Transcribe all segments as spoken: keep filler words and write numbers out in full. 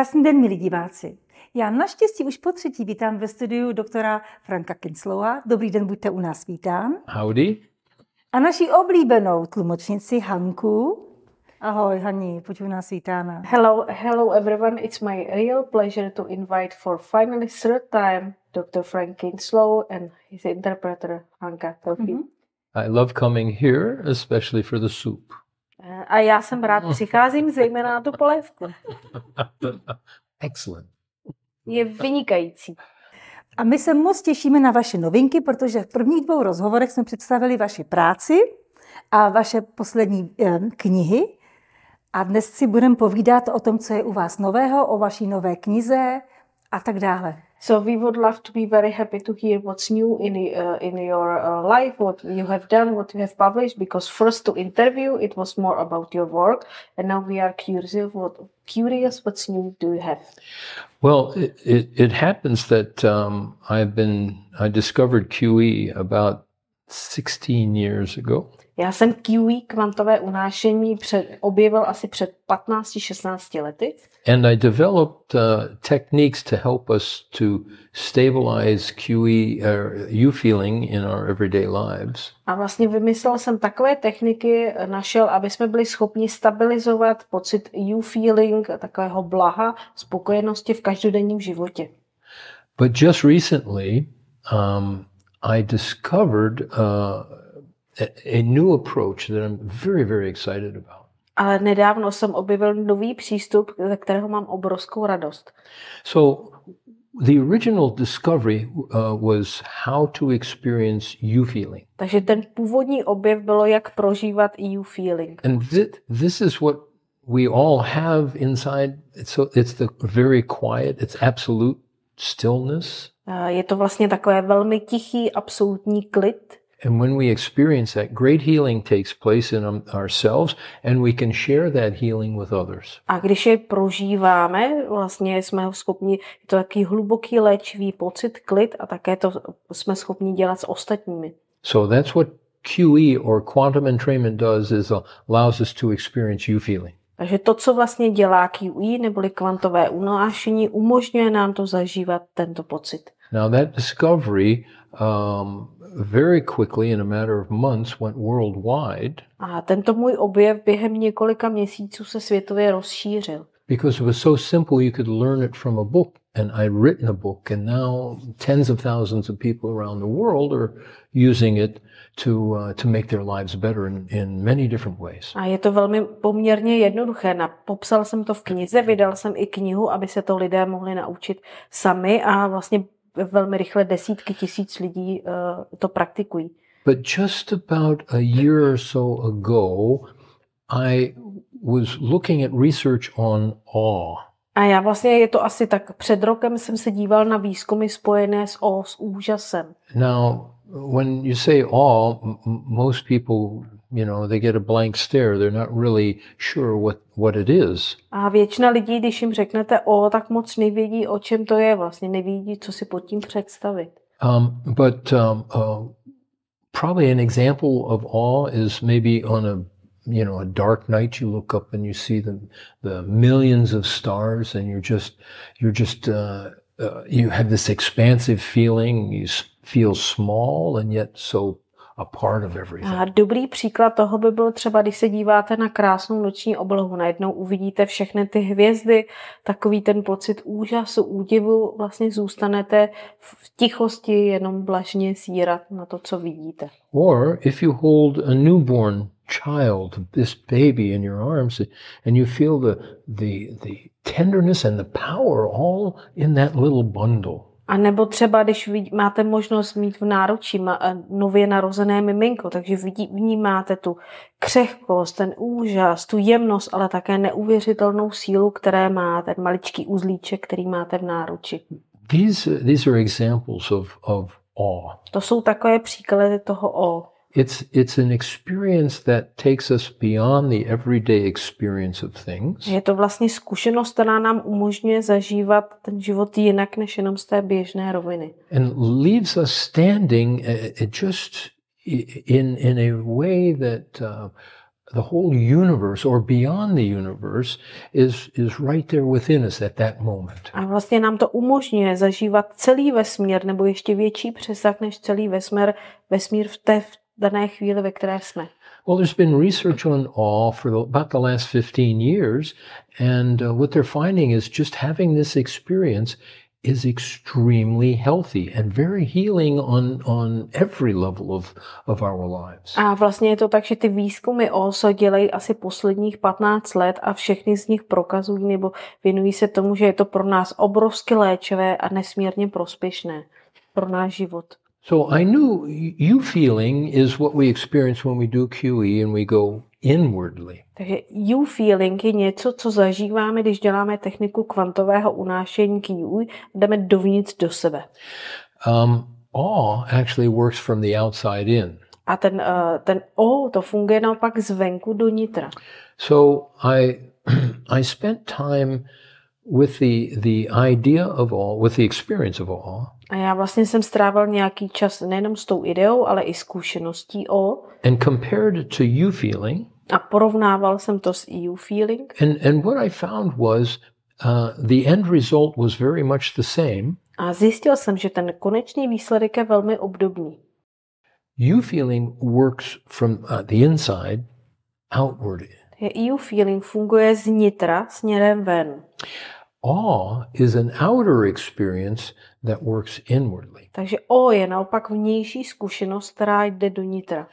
Krásný den, milí diváci. Já naštěstí už po třetí vítám ve studiu doktora Franka Kinslowa. Dobrý den, buďte u nás vítán. Howdy. A naší oblíbenou tlumočnici Hanku. Ahoj, Hani, buď u nás vítána. Hello, hello everyone. It's my real pleasure to invite for finally third time doctor Frank Kinslow and his interpreter Hanka Telfi. Mm-hmm. I love coming here, especially for the soup. A já jsem rád přicházím zejména na tu polévku. Excellent. Je vynikající. A my se moc těšíme na vaše novinky, protože v prvních dvou rozhovorech jsme představili vaši práci a vaše poslední eh, knihy. A dnes si budeme povídat o tom, co je u vás nového, o vaší nové knize a tak dále. So we would love to be very happy to hear what's new in uh, in your uh, life, what you have done, what you have published. Because first to interview, it was more about your work, and now we are curious what curious what's new do you have? Well, it it, it happens that um, I've been I discovered Q E about sixteen years ago. Já jsem Q E, kvantové unášení, před, objevil asi před patnácti šestnácti lety. And I developed uh, techniques to help us to stabilize Q E, uh, U feeling in our everyday lives. A vlastně vymyslel jsem takové techniky, našel, aby jsme byli schopni stabilizovat pocit U feeling, takového blaha, spokojenosti v každodenním životě. But just recently, um, I discovered uh, A, a new approach that I'm very, very excited about. Ale nedávno jsem objevil nový přístup, ze kterého mám obrovskou radost. So the original discovery uh, was how to experience U feeling. Takže ten původní objev bylo, jak prožívat U feeling. And th- this is what we all have inside. It's, so, it's the very quiet, it's absolute stillness. Je to vlastně takové velmi tichý, absolutní klid. And when we experience that, great healing takes place in um, ourselves, and we can share that healing with others. A když je prožíváme, vlastně jsme ho schopni, je to takový hluboký léčivý pocit, klid, a také to jsme schopni dělat s ostatními. So that's what Q E or quantum entrainment does, is allows us to experience U feeling. Takže to, co vlastně dělá Q E, neboli kvantové unášení, umožňuje nám to zažívat tento pocit. Now that discovery um, very quickly, in a matter of months, went worldwide. A tento můj objev během několika měsíců se světově rozšířil. Because it was so simple, you could learn it from a book. And I'd written a book, and now tens of thousands of people around the world are using it to uh, to make their lives better in, in many different ways. A je to velmi poměrně jednoduché. Na, popsal jsem to v knize, vydal jsem i knihu, aby se to lidé mohli naučit sami, a vlastně velmi rychle desítky tisíc lidí uh, to praktikují. But just about a year or so ago, I was looking at research on awe. A já vlastně, je to asi tak, před rokem jsem se díval na výzkumy spojené s awe, s úžasem. Now, when you say awe, m- most people, you know, they get a blank stare. They're not really sure what, what it is. A většina lidí, když jim řeknete awe, tak moc nevědí, o čem to je. Vlastně nevědí, co si pod tím představit. Um, but um, uh, probably an example of awe is maybe on a, you know, a dark night. You look up and you see the the millions of stars, and you're just you're just uh, uh, you have this expansive feeling. You feel small and yet so a part of everything. A dobrý příklad toho by byl třeba, když se díváte na krásnou noční oblohu. Najednou uvidíte všechny ty hvězdy, takový ten pocit úžasu, údivu, vlastně zůstanete v tichosti jenom blažně zírat na to, co vidíte. Or if you hold a newborn child, this baby in your arms, and you feel the the the tenderness and the power all in that little bundle. A nebo třeba, když máte možnost mít v náručí nově narozené miminko, takže vidí, vnímáte tu křehkost, ten úžas, tu jemnost, ale také neuvěřitelnou sílu, které má ten maličký uzlíček, který máte v náruči. These these are examples of of awe. To jsou takové příklady toho awe. It's it's an experience that takes us beyond the everyday experience of things. Je to vlastně zkušenost, která nám umožňuje zažívat ten život jinak než jenom z té běžné roviny. And leaves us standing uh, just in in a way that uh, the whole universe or beyond the universe is, is right there within us at that moment. A vlastně nám to umožňuje zažívat celý vesmír nebo ještě větší přesah než celý vesmír, vesmír v té v dané chvíli, ve které jsme. Well, there's been research on awe for the, about the last fifteen years, and uh, what they're finding is just having this experience is extremely healthy and very healing on, on every level of, of our lives. A vlastně je to tak, že ty výzkumy O S O dělají asi posledních patnáct let a všechny z nich prokazují nebo věnují se tomu, že je to pro nás obrovsky léčivé a nesmírně prospěšné pro náš život. So I knew you feeling is what we experience when we do Q E and we go inwardly. Takže you feeling je něco, co zažíváme, když děláme techniku kvantového unášení Q E, jdeme dovnitř do sebe. Um, awe actually works from the outside in. A ten, uh, ten O, to funguje naopak zvenku do nitra. So I, I spent time with the, the idea of awe, with the experience of awe. A já vlastně jsem strávil nějaký čas nejenom s tou ideou, ale i zkušeností O. And compared it to you feeling. A porovnával jsem to s you feeling. And, and what I found was uh, the end result was very much the same. A zjistil jsem, že ten konečný výsledek je velmi obdobný. You feeling works from uh, the inside outward. You feeling funguje z nitra směrem ven. Awe is an outer experience that works inwardly. Takže O je naopak vnější zkušenost, která jde do nitra.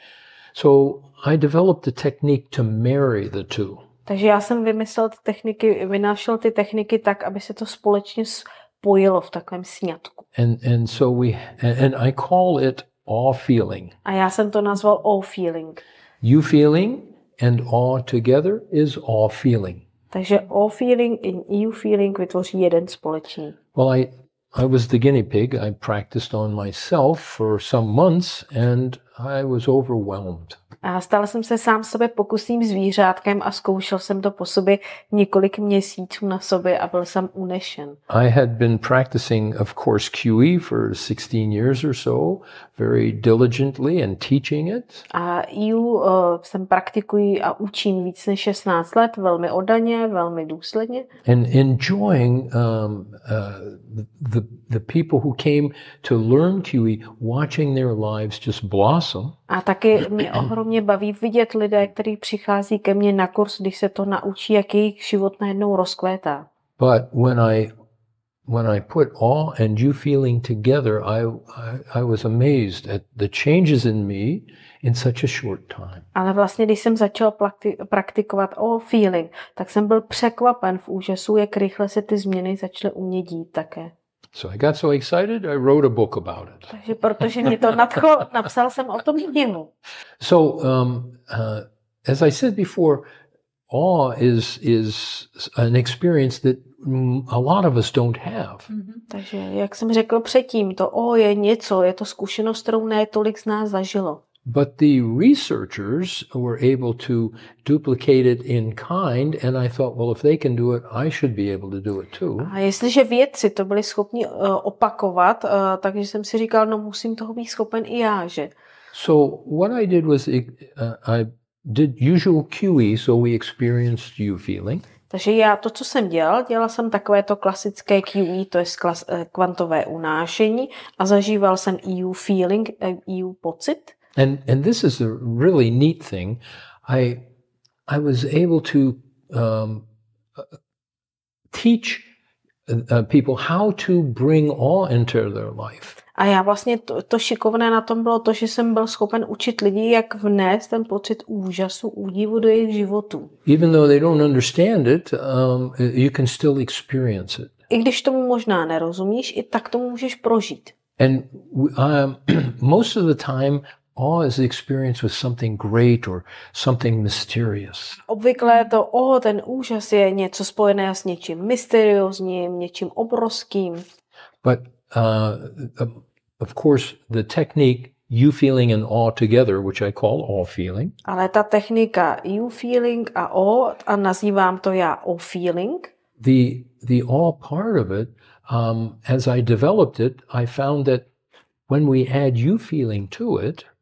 So I developed a technique to marry the two. Takže já jsem vymyslel ty techniky, vynášel ty techniky tak, aby se to společně spojilo v takovém sňatku. And and so we and I call it awe feeling. A já jsem to nazval O feeling. You feeling and awe together is awe feeling. Takže O feeling and you feeling vytvoří jeden společný. Well, I I was the guinea pig. I practiced on myself for some months and I was overwhelmed. A stal jsem se sám sebe pokusným zvířátkem a zkoušel jsem to po sobě několik měsíců na sobě a byl jsem unešen. I had been practicing, of course, Q E for sixteen years or so, very diligently and teaching it. A E U uh, jsem praktikuji a učím víc než šestnáct let, velmi oddaně, velmi důsledně. And enjoying um, uh, the, the people who came to learn Q E, watching their lives just blossom. A taky mě ohromně baví vidět lidé, kteří přichází ke mně na kurz, když se to naučí, jak jejich život najednou rozkvétá. But when I when I put awe and you feeling together, I, I I was amazed at the changes in me in such a short time. Ale vlastně, když jsem začal praktikovat O feeling, tak jsem byl překvapen v úžasu, jak rychle se ty změny začaly u mě dít také. So I got so excited, I wrote a book about it. Takže protože mě to nadchlo, napsal jsem o tom knihu. So um, uh, as I said before, awe is is an experience that a lot of us don't have. Mm-hmm. Takže jak jsem řekl předtím, to O je něco, je to zkušenost, kterou ne tolik z nás zažilo. But the researchers were able to duplicate it in kind, and I thought, well, if they can do it, I should be able to do it too. A jestliže vědci to byli schopni uh, opakovat, uh, takže jsem si říkal, no musím toho být schopen i já, že? So what I did was uh, I did usual Q E, so we experienced you feeling. Takže já to, co jsem dělal, dělal jsem takové to klasické Q E, to je klas, uh, kvantové unášení a zažíval jsem E U feeling, uh, E U pocit. And and this is a really neat thing. I I was able to um, teach uh, people how to bring awe into their life. A já vlastně to, to šikovné na tom bylo to, že jsem byl schopen učit lidi, jak vnést ten pocit úžasu, údivu do jejich životů. Even though they don't understand it, um, you can still experience it. I když tomu možná nerozumíš, i tak to můžeš prožít. And um, most of the time, awe is the experience with something great or something mysterious. Obvykle to o, ten úžas je něco spojené s něčím mysteriózním, něčím obrovským. But uh, of course, the technique you feeling and awe together, which I call awe feeling. Ale ta technika you feeling a o, a nazývám to já o feeling. The the awe part of it, um, as I developed it, I found that when we add you feeling to it,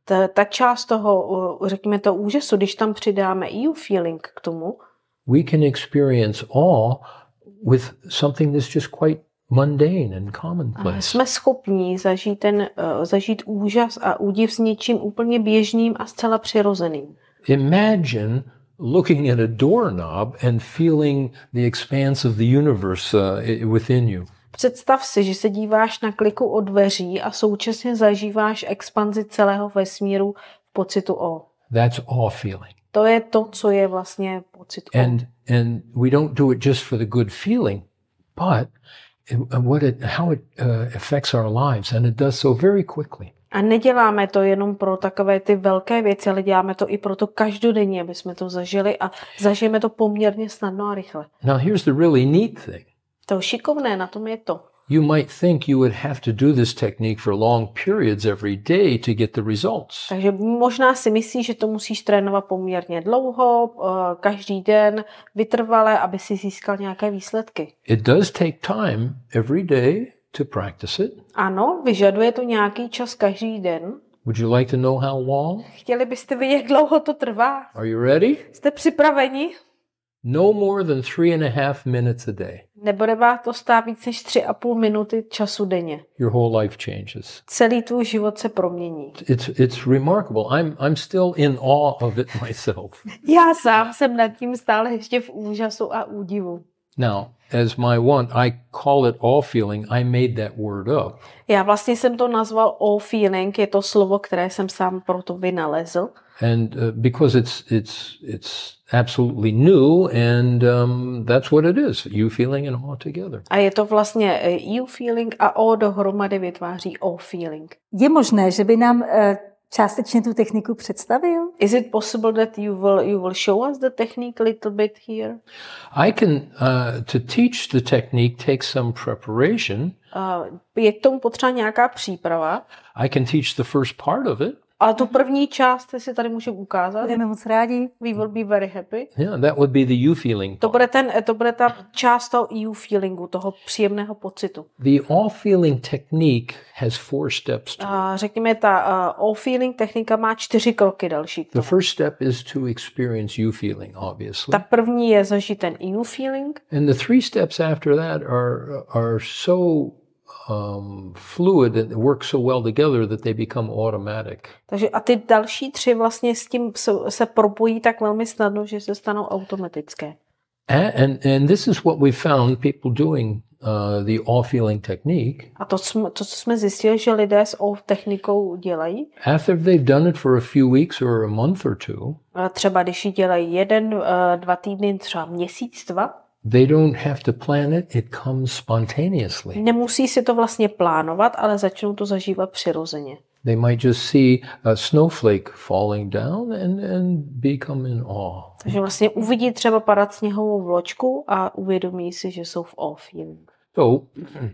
ta, ta část toho, řekněme to úžasu, když tam přidáme E U feeling k tomu, we can experience awe with something that's just quite mundane and commonplace. Jsme schopní zažít, ten, uh, zažít úžas a údiv s něčím úplně běžným a zcela přirozeným. Imagine looking at a doorknob and feeling the expanse of the universe uh, within you. Představ si, že se díváš na kliku od dveří a současně zažíváš expanzi celého vesmíru v pocitu o. That's awe feeling. To je to, co je vlastně pocit o. And and we don't do it just for the good feeling, but what it, how it uh, affects our lives, and it does so very quickly. A neděláme to jenom pro takové ty velké věci, ale děláme to i pro to každodenně, aby jsme to zažili a zažijeme to poměrně snadno a rychle. Now here's the really neat thing. To šikovné na tom je to. You might think you would have to do this technique for long periods every day to get the results. Takže možná si myslíš, že to musíš trénovat poměrně dlouho, každý den, vytrvale, aby si získal nějaké výsledky. It does take time every day to practice it. Ano, vyžaduje to nějaký čas každý den. Would you like to know how long? Chtěli byste vědět, jak dlouho to trvá? Are you ready? Jste připraveni? No more than three and a half minutes a day. Nebude vás to stát víc než tři a půl minuty času denně. Your whole life changes. Celý tvůj život se promění. It's it's remarkable. I'm I'm still in awe of it myself. Já sám jsem nad tím stále ještě v úžasu a údivu. Now, as my one, I call it awe feeling. I made that word up. Já vlastně jsem to nazval awe feeling, je to slovo, které jsem sám proto vynalezl. And uh, because it's it's it's absolutely new, and um, that's what it is. You feeling and awe together. A je to vlastně you feeling a awe dohromady vytváří awe feeling. Je možné, že by nám uh, částečně tu techniku představil? Is it possible that you will you will show us the technique a little bit here? I can uh, to teach the technique takes some preparation. Uh, je k tomu potřeba nějaká příprava. I can teach the first part of it. Ale tu první část si tady můžeme ukázat. Budeme moc rádi. We will be very happy. Yeah, that would be the you feeling. To bude, ten, to bude ta část toho you feelingu, toho příjemného pocitu. The awe feeling technique has four steps. To uh, řekněme, ta uh, awe feeling technika má čtyři kroky další. The first step is to experience you feeling, obviously. Ta první je zažít ten you feeling. And the three steps after that are are so Um, fluid and work so well together that they become automatic. Takže a ty další tři vlastně s tím se, se propojí tak velmi snadno, že se stanou automatické. And, and, and this is what we found people doing uh, the awe feeling technique. A to, to, co jsme zjistili, že lidé s awe technikou dělají. After they've done it for a few weeks or a month or two. Třeba když ji dělají jeden, uh, dva týdny, třeba měsíc, dva. They don't have to plan it, it comes spontaneously. Nemusí si to vlastně plánovat, ale začnou to zažívat přirozeně. They might just see a snowflake falling down and, and become in awe. Takže vlastně uvidí třeba padat sněhovou vločku a uvědomí si, že jsou v awe feeling. So,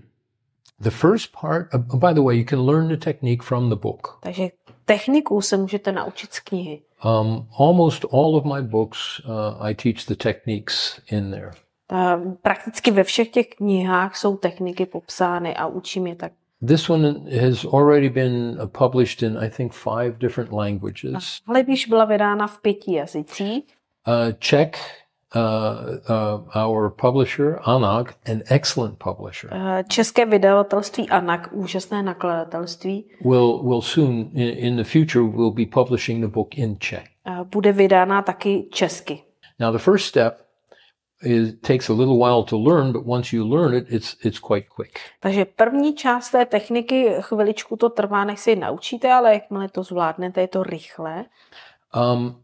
the first part, uh, by the way, you can learn the technique from the book. Takže techniku se můžete naučit z knihy. Um, almost all of my books, uh, I teach the techniques in there. Prakticky ve všech těch knihách jsou techniky popsány a učím je tak. This one has already been published in, I think, five different languages. Ale když byla vydána v pěti jazycích. Uh, Czech, uh, uh, our publisher, Anak, an excellent publisher. Uh, české vydavatelství Anak, úžasné nakladatelství. Will will soon, in, in the future, will be publishing the book in Czech. Uh, bude vydána taky česky. Now, the first step It takes a little while to learn, but once you learn it, it's it's quite quick. Takže první část té techniky, chviličku to trvá, než si ji naučíte, ale jakmile to zvládnete, je to rychlé. Um,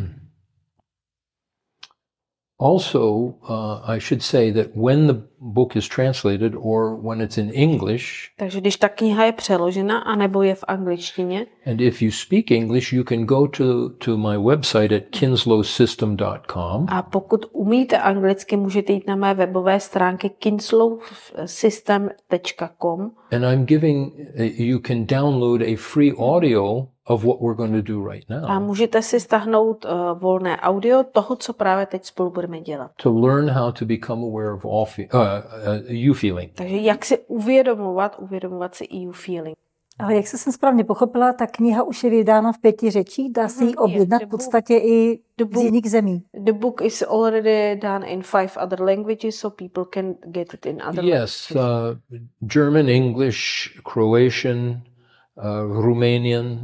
also, uh, I should say that when the book is translated or when it's in English, takže když ta kniha je přeložena anebo je v angličtině, and if you speak English, you can go to to my website at kinslow system dot com. A pokud umíte anglicky, můžete jít na mé webové stránky kinslow system tečka com. And I'm giving you can download a free audio of what we're going to do right now. A můžete si stáhnout uh, volné audio toho, co právě teď spolu budeme dělat. To learn how to become aware of all fe- uh, uh, you feeling. Takže jak si uvědomovat, uvědomovat si you feeling. Ale jak jsem správně pochopila, ta kniha už je vydána v pěti řečích, dá se ji Mhm, je. objednat The v book- podstatě i the z book- jiných zemí. The book is already done in five other languages, so people can get it in other Yes, languages. uh, German, English, Croatian, uh, Romanian,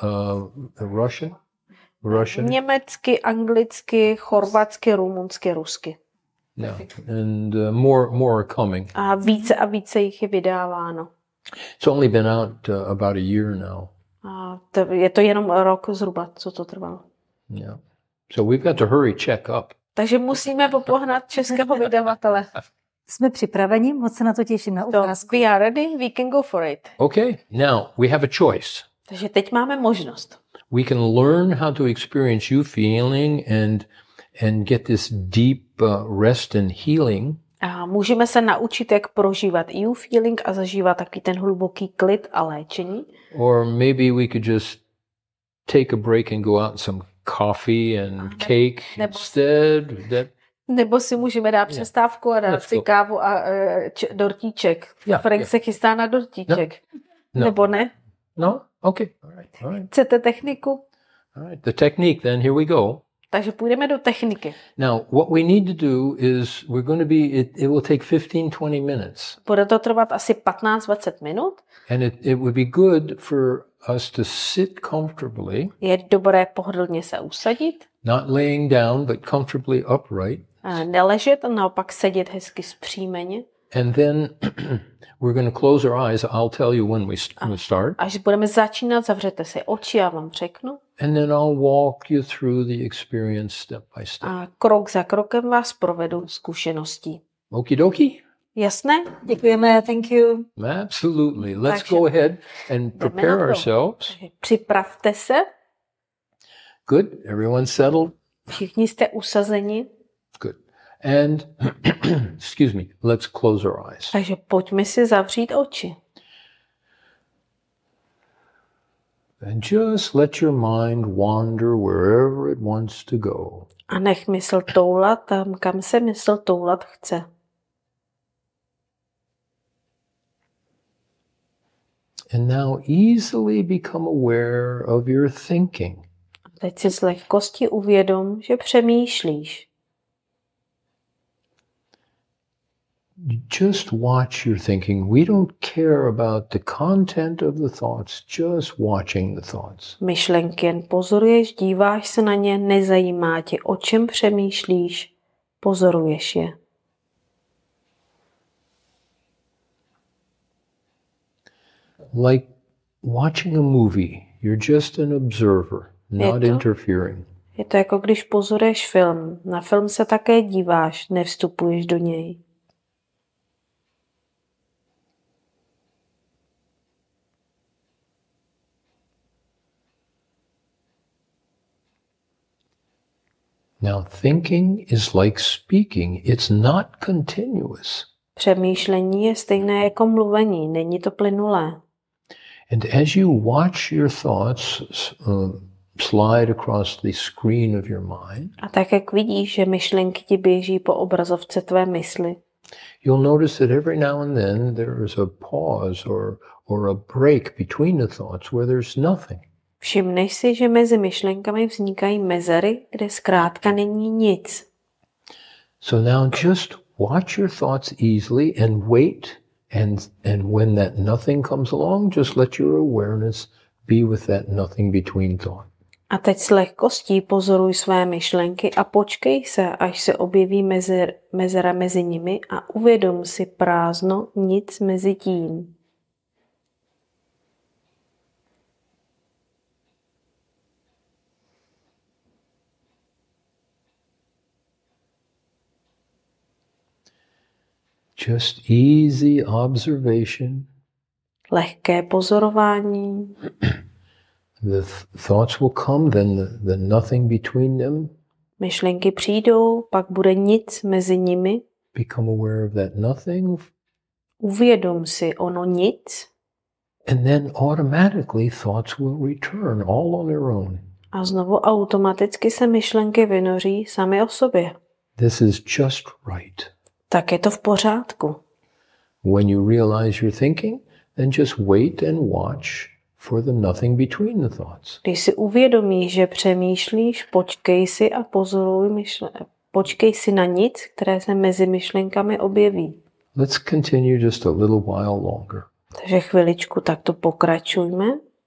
uh, Russian, Russian, Německy, anglicky, chorvatsky, rumunsky, rusky. yeah, and uh, more more are coming. A více a více jich je vydáváno. It's only been out uh, about a year now. A to, je to jenom rok zhruba, co to trvalo. Yeah, so we've got to hurry, check up. Takže musíme popohnat českého vydavatele. Jsme připraveni, moc se na to těším na So, ukázku. we are ready, we can go for it. Okay, now we have a choice. Takže teď máme možnost. We can learn how to experience you feeling and and get this deep uh, rest and healing. A můžeme se naučit, jak prožívat you feeling a zažívat taky ten hluboký klid a léčení. Or maybe we could just take a break and go out and some coffee and cake nebo- instead. That Nebo si můžeme dát přestávku a dát Let's si go. kávu a uh, č- dortíček. Yeah, Frank yeah. se chystá na dortíček. No. Nebo ne? no? Okay. All right. All right. Chcete techniku? All right. The technique then, here we go. Takže půjdeme do techniky. Now, what we need to do is we're going to be it, it will take fifteen twenty minutes. Bude to trvat asi patnáct dvacet minut. And it, it would be good for us to sit comfortably, Je dobré pohodlně se usadit, not laying down, but comfortably upright. a neležet a naopak sedět hezky zpříjmeně. And then we're going to close our eyes. I'll tell you when we st- we start. Až budeme začínat, zavřete si oči, já vám řeknu. And then I'll walk you through the experience step by step. A krok za krokem vás provedu zkušeností. Okie dokie? Jasné? Děkujeme, thank you. Absolutely. Let's Takže- go ahead and na prepare to. ourselves. Takže připravte se. Good. Everyone settled? Všichni jste usazeni. Good. And, excuse me, let's close our eyes. Takže pojďme si zavřít oči. And just let your mind wander wherever it wants to go. A nech mysl toulat tam, kam se mysl toulat chce. And now easily become aware of your thinking. A teď si s lehkostí uvědom, že přemýšlíš. Just watch your thinking. We don't care about the content of the thoughts, just watching the thoughts. Myšlenky jen pozoruješ, díváš se na ně, nezajímá tě, o čem přemýšlíš, pozoruješ je. Like watching a movie, you're just an observer, not to- interfering. Je to jako když pozoruješ film. Na film se také díváš, nevstupuješ do něj. Now, thinking is like speaking, it's not continuous. Přemýšlení je stejné jako mluvení, není to plynulé. And as you watch your thoughts um, slide across the screen of your mind, A tak, jak vidíš, že myšlenky ti běží po obrazovce tvé mysli, you'll notice that every now and then there is a pause or, or a break between the thoughts where there's nothing. všimneš si, že mezi myšlenkami vznikají mezery, kde zkrátka není nic. So now just watch your thoughts easily and wait. And, and when that nothing comes along, just let your awareness be with that nothing between thought. A teď s lehkostí pozoruj své myšlenky a počkej se, až se objeví mezer, mezera mezi nimi a uvědom si prázdno, nic mezi tím. Just easy observation. Lehké pozorování. The th- thoughts will come, then the, the nothing between them. Myšlenky přijdou, pak bude nic mezi nimi. Become aware of that nothing. Uvědom si ono nic And then automatically thoughts will return all on their own. a znovu automaticky se myšlenky vynoří sami o sobě. This is just right. Tak je to v pořádku. When you realize you're thinking, then just wait and watch for the nothing between the thoughts. Když si uvědomíš, že přemýšlíš, počkej si a pozoruj myšlenky. Počkej si na nic, které se mezi myšlenkami objeví. Let's continue just a little while longer. Takže chviličku takto pokračujme.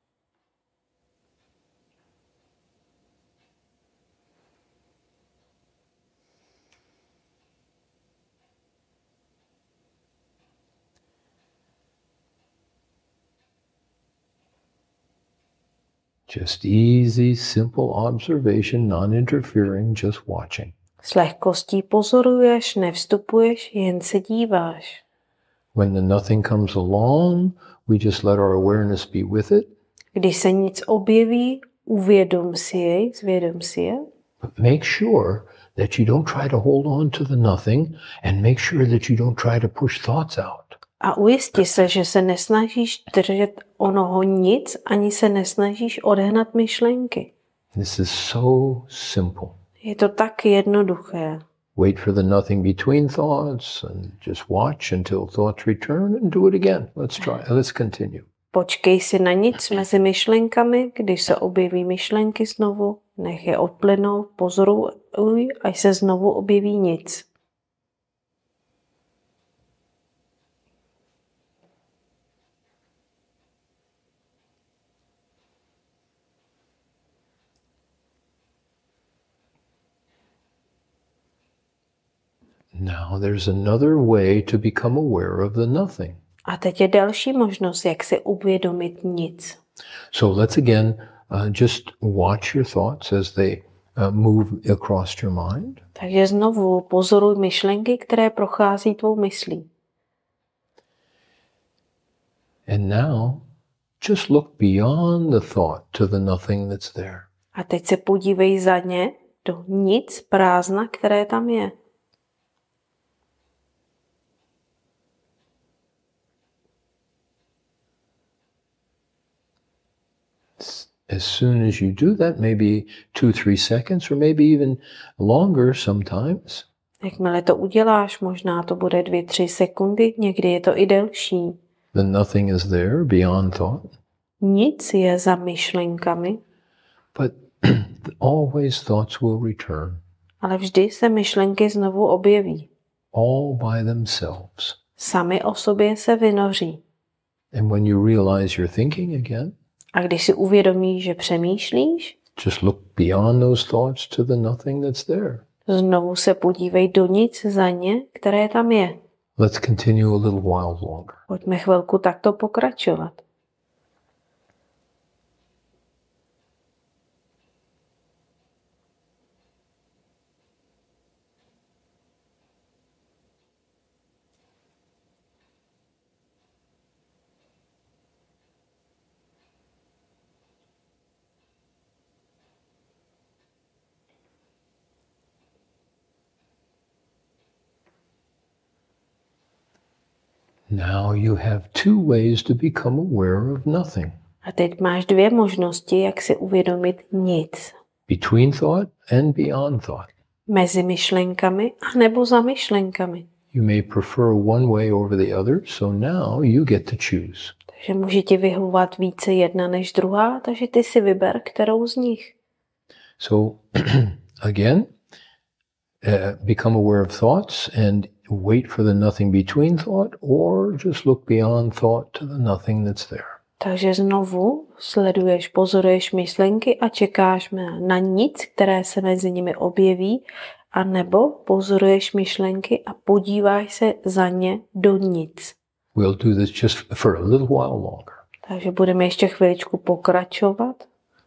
Just easy, simple observation, non-interfering, just watching. S lehkostí pozoruješ, nevstupuješ, jen se díváš. When the nothing comes along, we just let our awareness be with it. Když se nic objeví, uvědom si jej, zvědom si je. But make sure that you don't try to hold on to the nothing and make sure that you don't try to push thoughts out. A ujisti se, že se nesnažíš držet onoho nic, ani se nesnažíš odehnat myšlenky. This is so simple. Je to tak jednoduché. Wait for the nothing between thoughts and just watch until thoughts return and do it again. Let's try. Let's continue. Počkej si na nic mezi myšlenkami, když se objeví myšlenky znovu, nech je odplynout, pozoruj, až se znovu objeví nic. Now there's another way to become aware of the nothing. A teď je další možnost, jak si uvědomit nic. So let's again uh, just watch your thoughts as they uh, move across your mind. Takže znovu pozoruj myšlenky, které prochází tvou myslí. And now just look beyond the thought to the nothing that's there. A teď se podívej za ně do nic, prázdna, které tam je. As soon as you do that, maybe two, three seconds, or maybe even longer sometimes, Jakmile to uděláš, možná to bude dvě, tři sekundy, někdy je to i delší. the nothing is there beyond thought. Nic je za myšlenkami, But always thoughts will return, ale vždy se myšlenky znovu objeví. all by themselves. Sami o sobě se vynoří. And when you realize you're thinking again, A když si uvědomíš, že přemýšlíš, just look beyond those thoughts to the nothing that's there. znovu se podívej do nic za ně, které tam je. Let's continue a little while longer. Pojďme chvilku takto pokračovat. Now you have two ways to become aware of nothing. A teď máš dvě možnosti, jak si uvědomit nic. Between thought and beyond thought. Mezi myšlenkami a nebo za myšlenkami. You may prefer one way over the other, so now you get to choose. Takže může ti vyhovovat více jedna než druhá, takže ty si vyber, kterou z nich. So again, uh, become aware of thoughts and wait for the nothing between thought, or just look beyond thought to the nothing that's there. Takže znovu sleduješ, pozoruješ myšlenky a čekáš na nic, které se mezi nimi objeví, a nebo pozoruješ myšlenky a podíváš se za ně do nic. We'll do this just for a little while longer. Takže budeme ještě chviličku pokračovat.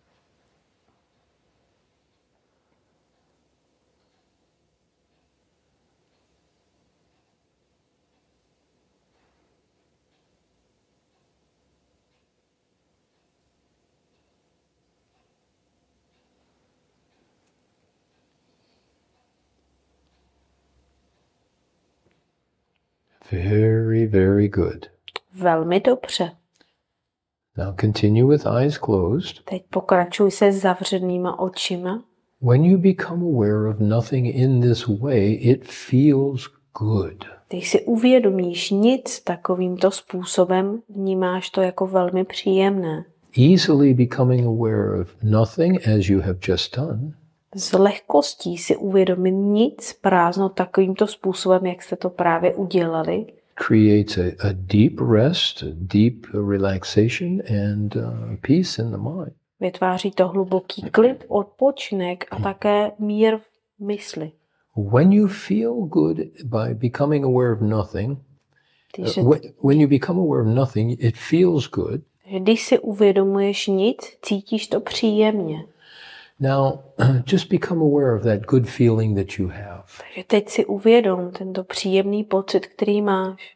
Very, very good. Velmi dobře. Now continue with eyes closed. Teď pokračuj se zavřenýma očima. When you become aware of nothing in this way, it feels good. Když si uvědomíš nic takovýmto způsobem, vnímáš to jako velmi příjemné. easily becoming aware of nothing as you have just done, s lehkostí si uvědomit nic, prázdno takovýmto způsobem, jak jste to právě udělali, creates a, a deep rest, a deep relaxation and uh, peace in the mind. vytváří to hluboký klid, odpočinek a také mír v mysli. When you feel good by becoming aware of nothing, Když, uh, when, when you become aware of nothing, it feels good. když si uvědomuješ nic, cítíš to příjemně. Now, just become aware of that good feeling that you have. Takže teď si uvědom tento příjemný pocit, který máš.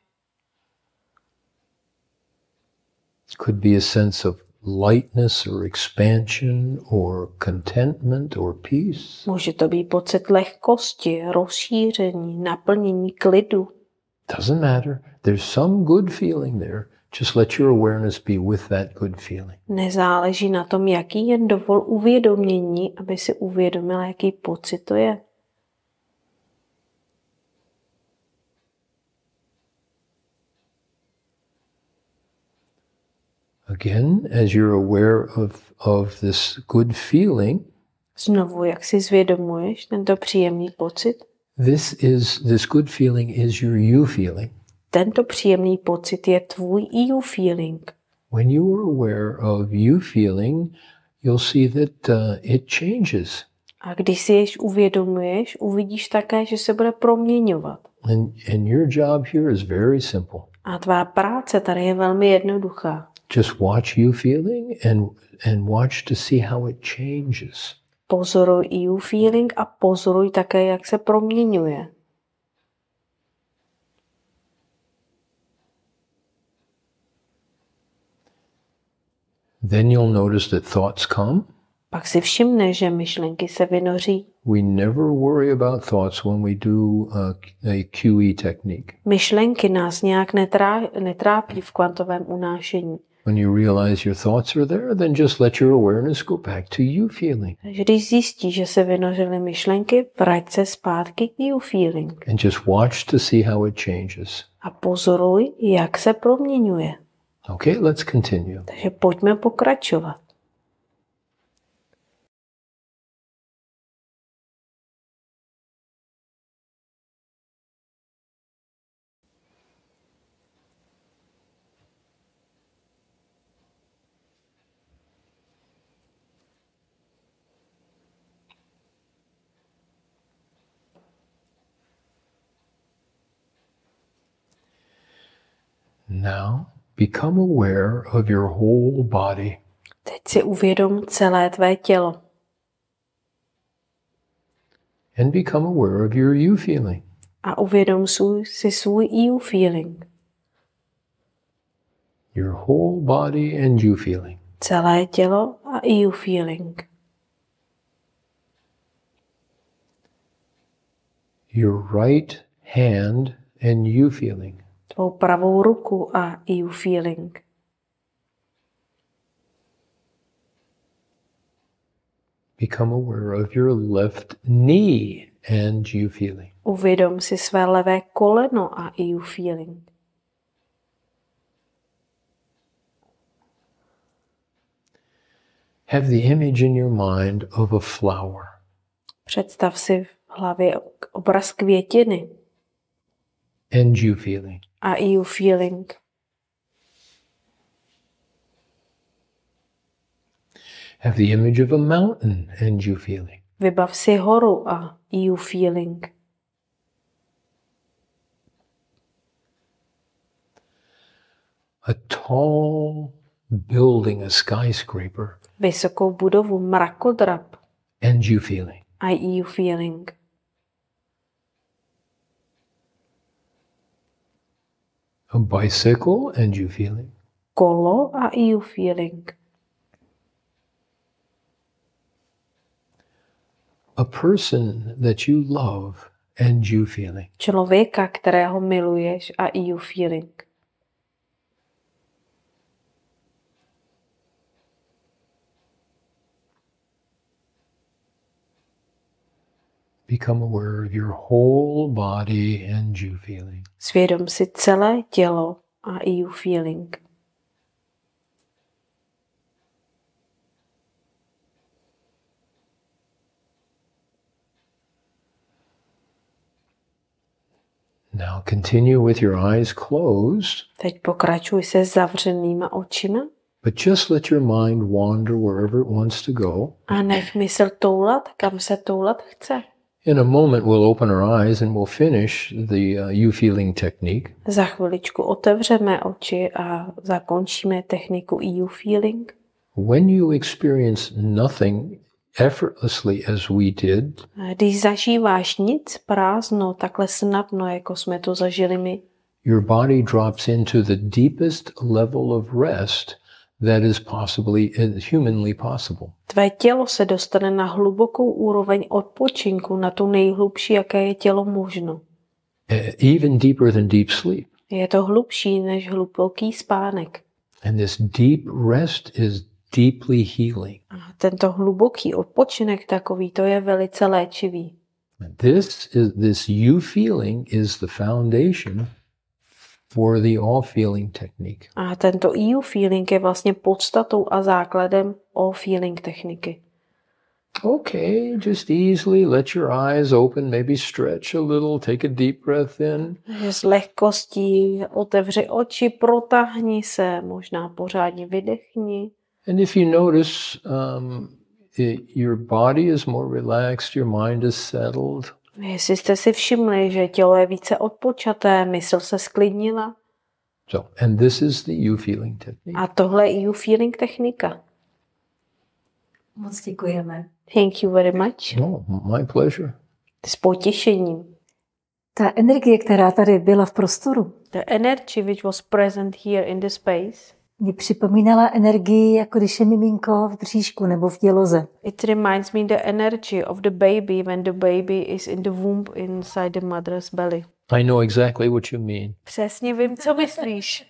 It could be a sense of lightness or expansion or contentment or peace. Může to být pocit lehkosti, rozšíření, naplnění, klidu. Doesn't matter. There's some good feeling there. Just let your awareness be with that good feeling. Nezáleží na tom, jaký je, dovol uvědomění, aby si uvědomil, jaký pocit to je. Again, as you're aware of, of this good feeling, Znovu, jak si zvědomuješ tento příjemný pocit, this is this good feeling is your you feeling. tento příjemný pocit je tvůj you feeling. When you are aware of you feeling, you'll see that uh, it changes. A když si jež uvědomuješ, uvidíš také, že se bude proměňovat. And, and your job here is very simple. A tvá práce tady je velmi jednoduchá. Just watch you feeling and, and watch to see how it changes. Pozoruj you feeling a pozoruj také, jak se proměňuje. Then you'll notice that thoughts come. Pak si všimneš, že myšlenky se vynoří. We never worry about thoughts when we do a, a Q E technique. Myšlenky nás nějak netrá, netrápí v kvantovém unášení. When you realize your thoughts are there, then just let your awareness go back to you feeling. Takže když zjistíš, že se vynořily myšlenky, vrať se zpátky k you feeling. And just watch to see how it changes. A pozoruj, jak se proměňuje. Okay, let's continue. Takže pojďme pokračovat. Now, become aware of your whole body. Teď si uvědom celé tvé tělo. And become aware of your you feeling. A uvědom si svůj you feeling. Your whole body and you feeling. Celé tělo a you feeling. Your right hand and you feeling. Tvou pravou ruku a you feeling. Become aware of your left knee and you feeling. Uvědom si své levé koleno a you feeling. Have the image in your mind of a flower. Představ si v hlavě obraz květiny And you feeling. a you feeling. Have the image of a mountain and you feeling. Vybav si horu a you feeling. A tall building, a skyscraper. Vysokou budovu, mrakodrap And you feeling. a you feeling. A bicycle and you feeling. Kolo a you feeling. A person that you love and you feeling. Člověka, kterého miluješ a you feeling. Become aware of your whole body and you feeling. Svědom si celé tělo a you feeling. Now continue with your eyes closed. Teď pokračuj se zavřenýma očima. But just let your mind wander wherever it wants to go. A nech mysl toulat, kam se toulat chce. In a moment we'll open our eyes and we'll finish the uh, you feeling technique. Za chviličku otevřeme oči a zakončíme techniku E U feeling. When you experience nothing effortlessly as we did, Když zažíváš nic, prázdno, takhle snadno, jako jsme to zažili my, your body drops into the deepest level of rest that is possibly humanly possible. tvé tělo se dostane na hlubokou úroveň odpočinku, na tu nejhlubší, jaké je tělo možno. Even deeper than deep sleep. Je to hlubší než hluboký spánek. And this deep rest is deeply healing. A tento hluboký odpočinek takový, to je velice léčivý. This is this you feeling is the foundation for the all feeling technique. A tento E U feeling je vlastně podstatou a základem all feeling techniky. Okay, just easily let your eyes open, maybe stretch a little, take a deep breath in. Takže s lehkostí otevři oči, protáhni se, možná pořádně vydechni. And if you notice um, it, your body is more relaxed, your mind is settled. Jestli jste si všimli, že tělo je více odpočaté, mysl se sklidnila. So, and this is the you feeling technique. A tohle je E U feeling technika. Moc děkujeme. Thank you very much. No, my pleasure. S potěšením. Ta energie, která tady byla v prostoru, The energy which was present here in the space, mě připomínala energii, jako když je miminko v bříšku nebo v děloze. it reminds me the energy of the baby when the baby is in the womb inside the mother's belly. I know exactly what you mean. Přesně vím, co myslíš.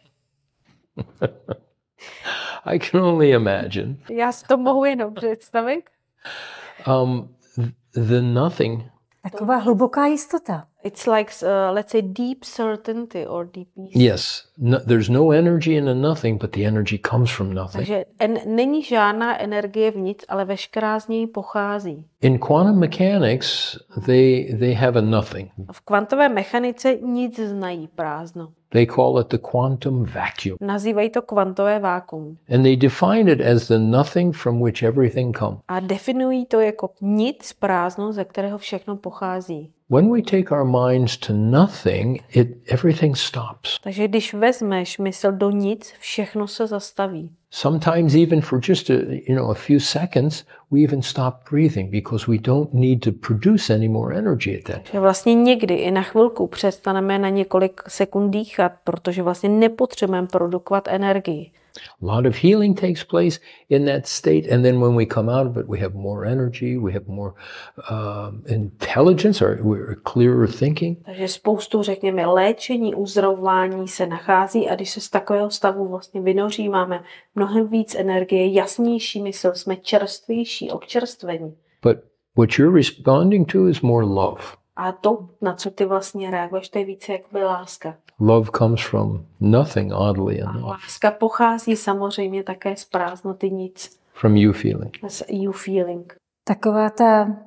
I can only imagine. Já si to mohu jenom představit. Um, the nothing Taková hluboká jistota. It's like, uh, let's say, deep certainty or deep peace. Yes, no, there's no energy in the nothing, but the energy comes from nothing. Takže en- není žádná energie v nic, ale veškerá z něj pochází. In quantum mechanics, they they have a nothing. V kvantové mechanice nic znají prázdno. They call it the quantum vacuum. Nazývají to kvantové vákuum. And they define it as the nothing from which everything comes. A definují to jako nic, prázdno, ze kterého všechno pochází. When we take our minds to nothing, it everything stops. Takže když vezmeš mysl do nic, všechno se zastaví. Sometimes even for just a, you know, a few seconds, we even stop breathing because we don't need to produce any more energy at that time. Že vlastně někdy i na chvilku přestaneme na několik sekund dýchat, protože vlastně nepotřebujeme produkovat energii. A lot of healing takes place in that state, and then when we come out of it, we have more energy, we have more um, intelligence, or we're clearer thinking. Takže spoustu, řekněme, léčení, uzdravování se nachází a když se z takového stavu vlastně vynoří, máme mnohem víc energie, jasnější mysl, jsme čerstvější, občerstvení. But what you're responding to is more love. A to, na co ty vlastně reaguješ, to je více jakoby láska. Love comes from nothing, oddly A enough, láska pochází samozřejmě také z prázdnoty nic, from you feeling. z you feeling. Taková ta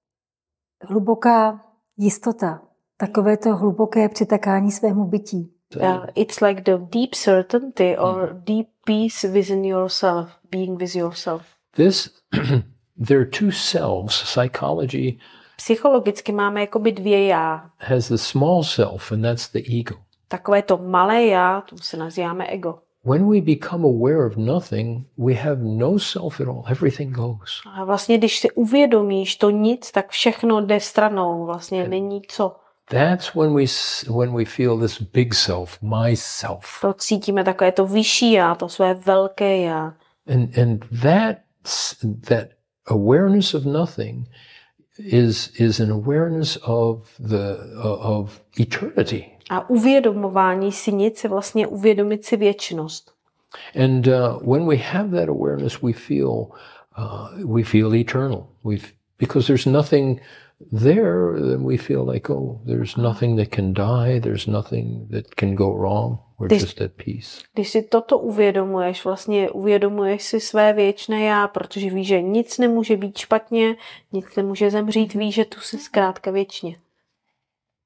hluboká jistota, takové to hluboké přitakání svému bytí. Uh, it's like the deep certainty or deep peace within yourself, being with yourself. This, there are two selves. Psychology Psychologicky máme jakoby dvě já. has the small self, and that's the ego. Takové to malé já, to se nazýváme ego. When we become aware of nothing, we have no self at all. Everything goes. A vlastně, když si uvědomíš to nic, tak všechno jde stranou. Vlastně není co. That's when we s- when we feel this big self, myself, To cítíme takové to vyšší já, to své velké já. and and that s- that awareness of nothing is is an awareness of the uh, of eternity. A uvědomování si nic je vlastně uvědomit si věčnost. And uh, when we have that awareness, we feel uh, we feel eternal. We because there's nothing there, then we feel like, oh, there's nothing that can die. There's nothing that can go wrong. We're This- just at peace. Když si toto uvědomuješ, vlastně uvědomuješ si své věčné já, protože víš, že nic nemůže být špatně, nic nemůže zemřít, víš, že tu jsi zkrátka věčně.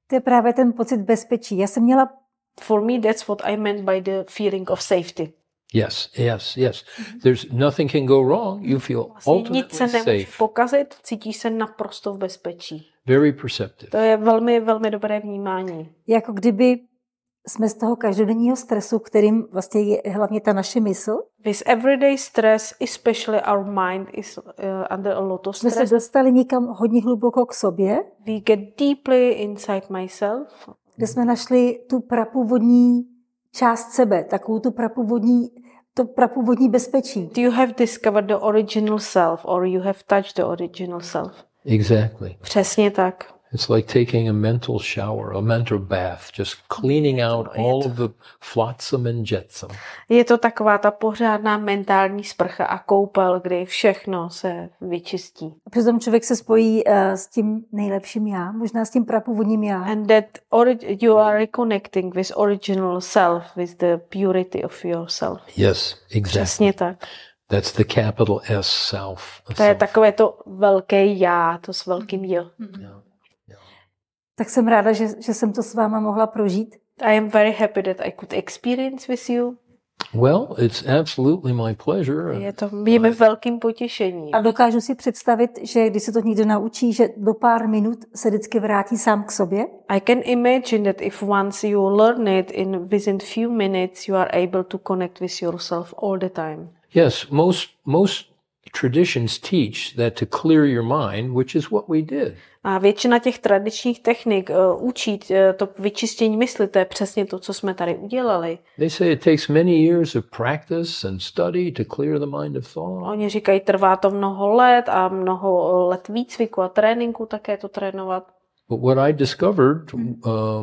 To je právě ten pocit bezpečí. Já jsem měla... For me, that's what I meant by the feeling of safety. Yes, yes, yes. There's nothing can go wrong. You feel ultimately Nic se nemůže safe. pokazit, cítíš se naprosto v bezpečí. Very perceptive. To je velmi, velmi dobré vnímání. Jako kdyby jsme z toho každodenního stresu, kterým vlastně je hlavně ta naše mysl. With everyday stress, especially our mind is uh, under a lot of Jsme stress. se dostali někam hodně hluboko k sobě, We get deeply inside myself. kde jsme našli tu prapůvodní část sebe, takovou tu prapůvodní, to prapůvodní bezpečí. You have discovered the original self, or you have touched the original self. Exactly. Přesně tak. It's like taking a mental shower, a mental bath, just cleaning out all of the flotsam and jetsam. Je to taková ta pořádná mentální sprcha a koupel, kdy všechno se vyčistí. A přitom člověk se spojí uh, s tím nejlepším já, možná s tím prapůvodním já. And that ori- you are reconnecting with original self, with the purity of yourself. Yes, exactly. Přesně tak. That's the capital S self. To je takové to velké já, to s velkým J. Yeah. Tak jsem ráda, že, že jsem to s váma mohla prožít. I am very happy that I could experience with you. Well, it's absolutely my pleasure. Je to je mi velkým potěšením. A dokážu si představit, že když se to někdo naučí, že do pár minut se vždycky vrátí sám k sobě. I can imagine that if once you learn it, in within few minutes you are able to connect with yourself all the time. Yes, most most traditions teach that to clear your mind, which is what we did. A většina těch tradičních technik uh, učí uh, to vyčištění mysli, to je přesně to, co jsme tady udělali. They say it takes many years of practice and study to clear the mind of thought. Oni říkají, trvá to mnoho let a mnoho let výcviku a tréninku také to trénovat. But what I discovered um,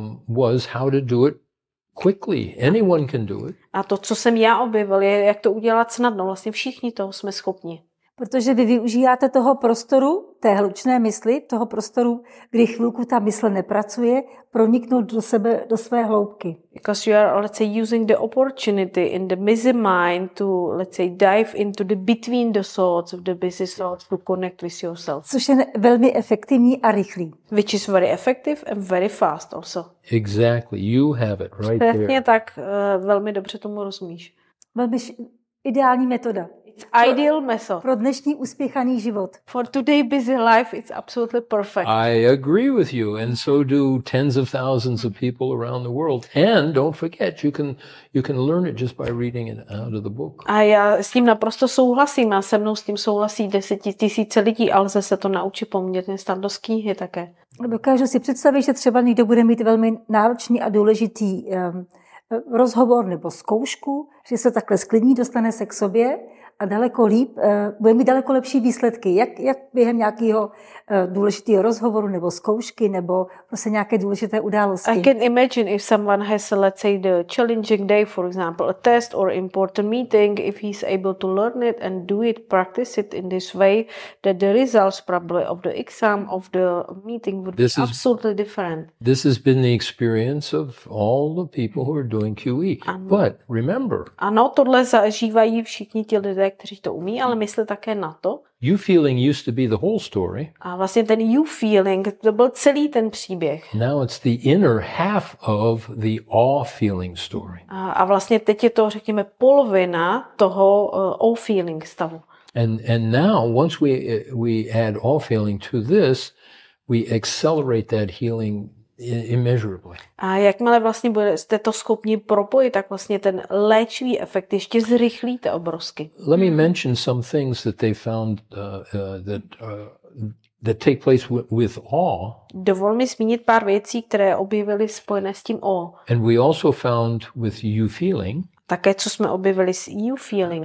was how to do it quickly. Anyone can do it. A to, co jsem já objevil, je, jak to udělat snadno. Vlastně všichni toho jsme schopni. Protože vy využíváte toho prostoru, té hlučné mysli, toho prostoru, kdy chvilku ta mysl nepracuje, proniknout do sebe, do své hloubky. Because you are, let's say, using the opportunity in the busy mind to, let's say, dive into the between the thoughts of the busy thoughts to connect with yourself. Což je velmi efektivní a rychlý. Which is very effective and very fast also. Exactly. You have it right there. Přesně tak, uh, velmi dobře tomu rozumíš. Velmi š- ideální metoda. Ideal method. Pro dnešní uspěchaný život. For today busy life, it's absolutely perfect. I agree with you, and so do tens of thousands of people around the world. And don't forget, you can you can learn it just by reading it out of the book. A já s tím naprosto souhlasím a se mnou s tím souhlasí desetitisíce lidí, ale lze se to naučit poměrně snadno z knihy také. Dokážu si představit, že třeba někdo bude mít velmi náročný a důležitý um, rozhovor nebo zkoušku, že se takhle sklidní, dostane se k sobě a daleko líp, uh, bude mít daleko lepší výsledky, jak, jak během nějakého uh, důležitého rozhovoru nebo zkoušky nebo prostě nějaké důležité události. I can imagine if someone has, let's say, the challenging day, for example, a test or important meeting, if he's able to learn it and do it, practice it in this way, that the results probably of the exam, of the meeting would This be is- absolutely different. This has been the experience of all the people who are doing Q E. But remember, Ano, tohle zažívají všichni ti lidé, kteří to umí, ale mysli také na to. you feeling used to be the whole story. A vlastně ten you feeling, to byl celý ten příběh. Now it's the inner half of the awe feeling story. A, a vlastně teď je to, řekněme, polovina toho uh, all feeling stavu. And and now once we uh, we add awe feeling to this, we accelerate that healing i- immeasurably. A jakmile vlastně budete to schopni propojit, tak vlastně ten léčivý efekt ještě zrychlíte obrovsky. Let me mention some things that they found uh, uh, that uh, that take place w- with awe, Dovol mi zmínit pár věcí, které objevily spojené s tím O. and we also found with you feeling. Také, co jsme objevili s you feeling.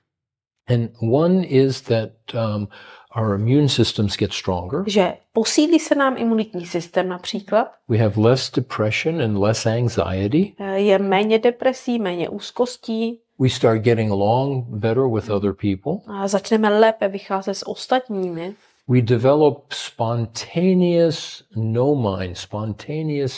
And one is that um, our immune systems get stronger. Že posílí se nám imunitní systém například, We have less depression and less anxiety. je méně depresí, méně úzkostí, We start getting along better with other people. a začneme lépe vycházet s ostatními. We develop spontaneous no mind, spontaneous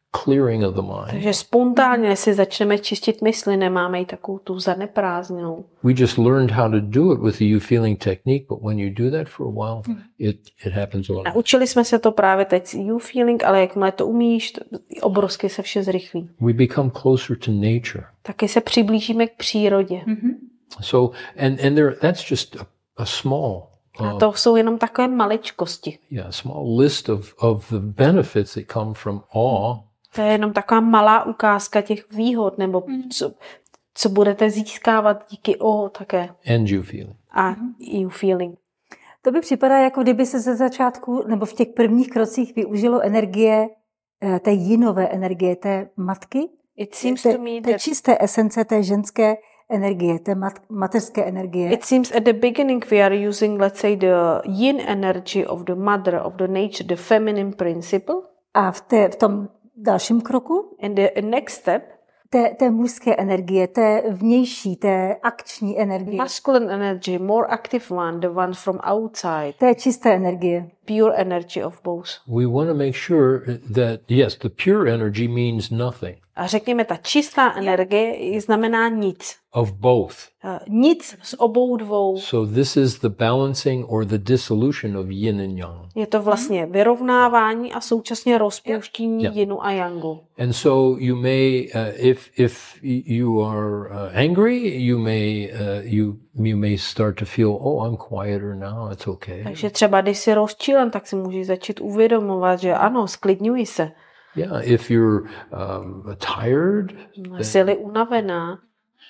clearing of the mind. Takže spontánně si začneme čistit mysli, nemáme ji takovou tu zaneprázdněnou. We just learned how to do it with the you feeling technique, but when you do that for a while, it, it happens all. Naučili jsme se to právě teď s you feeling, ale jakmile to umíš, to obrovsky se vše zrychlí. We become closer to nature. Taky se přiblížíme k přírodě. Mm-hmm. So, and, and there, that's just a, a small A to jsou jenom takové maličkosti. Yeah, a small list of, of the benefits that come from awe. To je jenom taková malá ukázka těch výhod, nebo co, co budete získávat díky o také. And you feeling. A you feeling. To by připadá, jako kdyby se ze začátku, nebo v těch prvních krocích využilo energie, té jinové energie, té matky, It seems té, to me té that čisté esence, té ženské energie, té mat, mateřské energie. it seems at the beginning we are using, let's say, the yin energy of the mother, of the nature, the feminine principle. A v, té, v tom dalším kroku And the next step, té, té mužské energie, té vnější, té akční energie, masculine energy, more active one, the one from outside, té čisté energie. pure energy of both. We want to make sure that, yes, the pure energy means nothing. A řekněme, ta čistá energie znamená nic. Of both. Uh, nic z obou dvou. So this is the balancing or the dissolution of yin and yang. Je to vlastně vyrovnávání a současně rozpouštění Yeah. yinu a yangu. And so you may, uh, if if you are uh, angry, you may uh, you you may start to feel, oh, I'm quieter now. It's okay. Takže třeba, když jsi rozčilen, tak si můžeš začít uvědomovat, že ano, sklidňuj se. Yeah. If you're um, tired, Jsi-li unavená.